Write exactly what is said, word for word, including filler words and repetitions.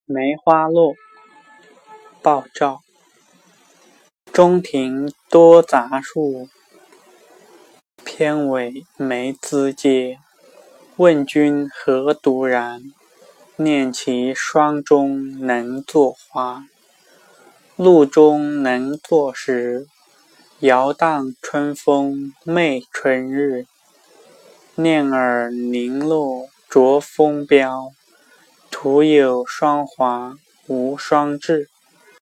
梅花落，鲍照。中庭多杂树，偏尾梅枝节。问君何独然？念其双中能作花。露中能作时，摇荡春风媚春日。念尔零落着风标，徒有双华无双至。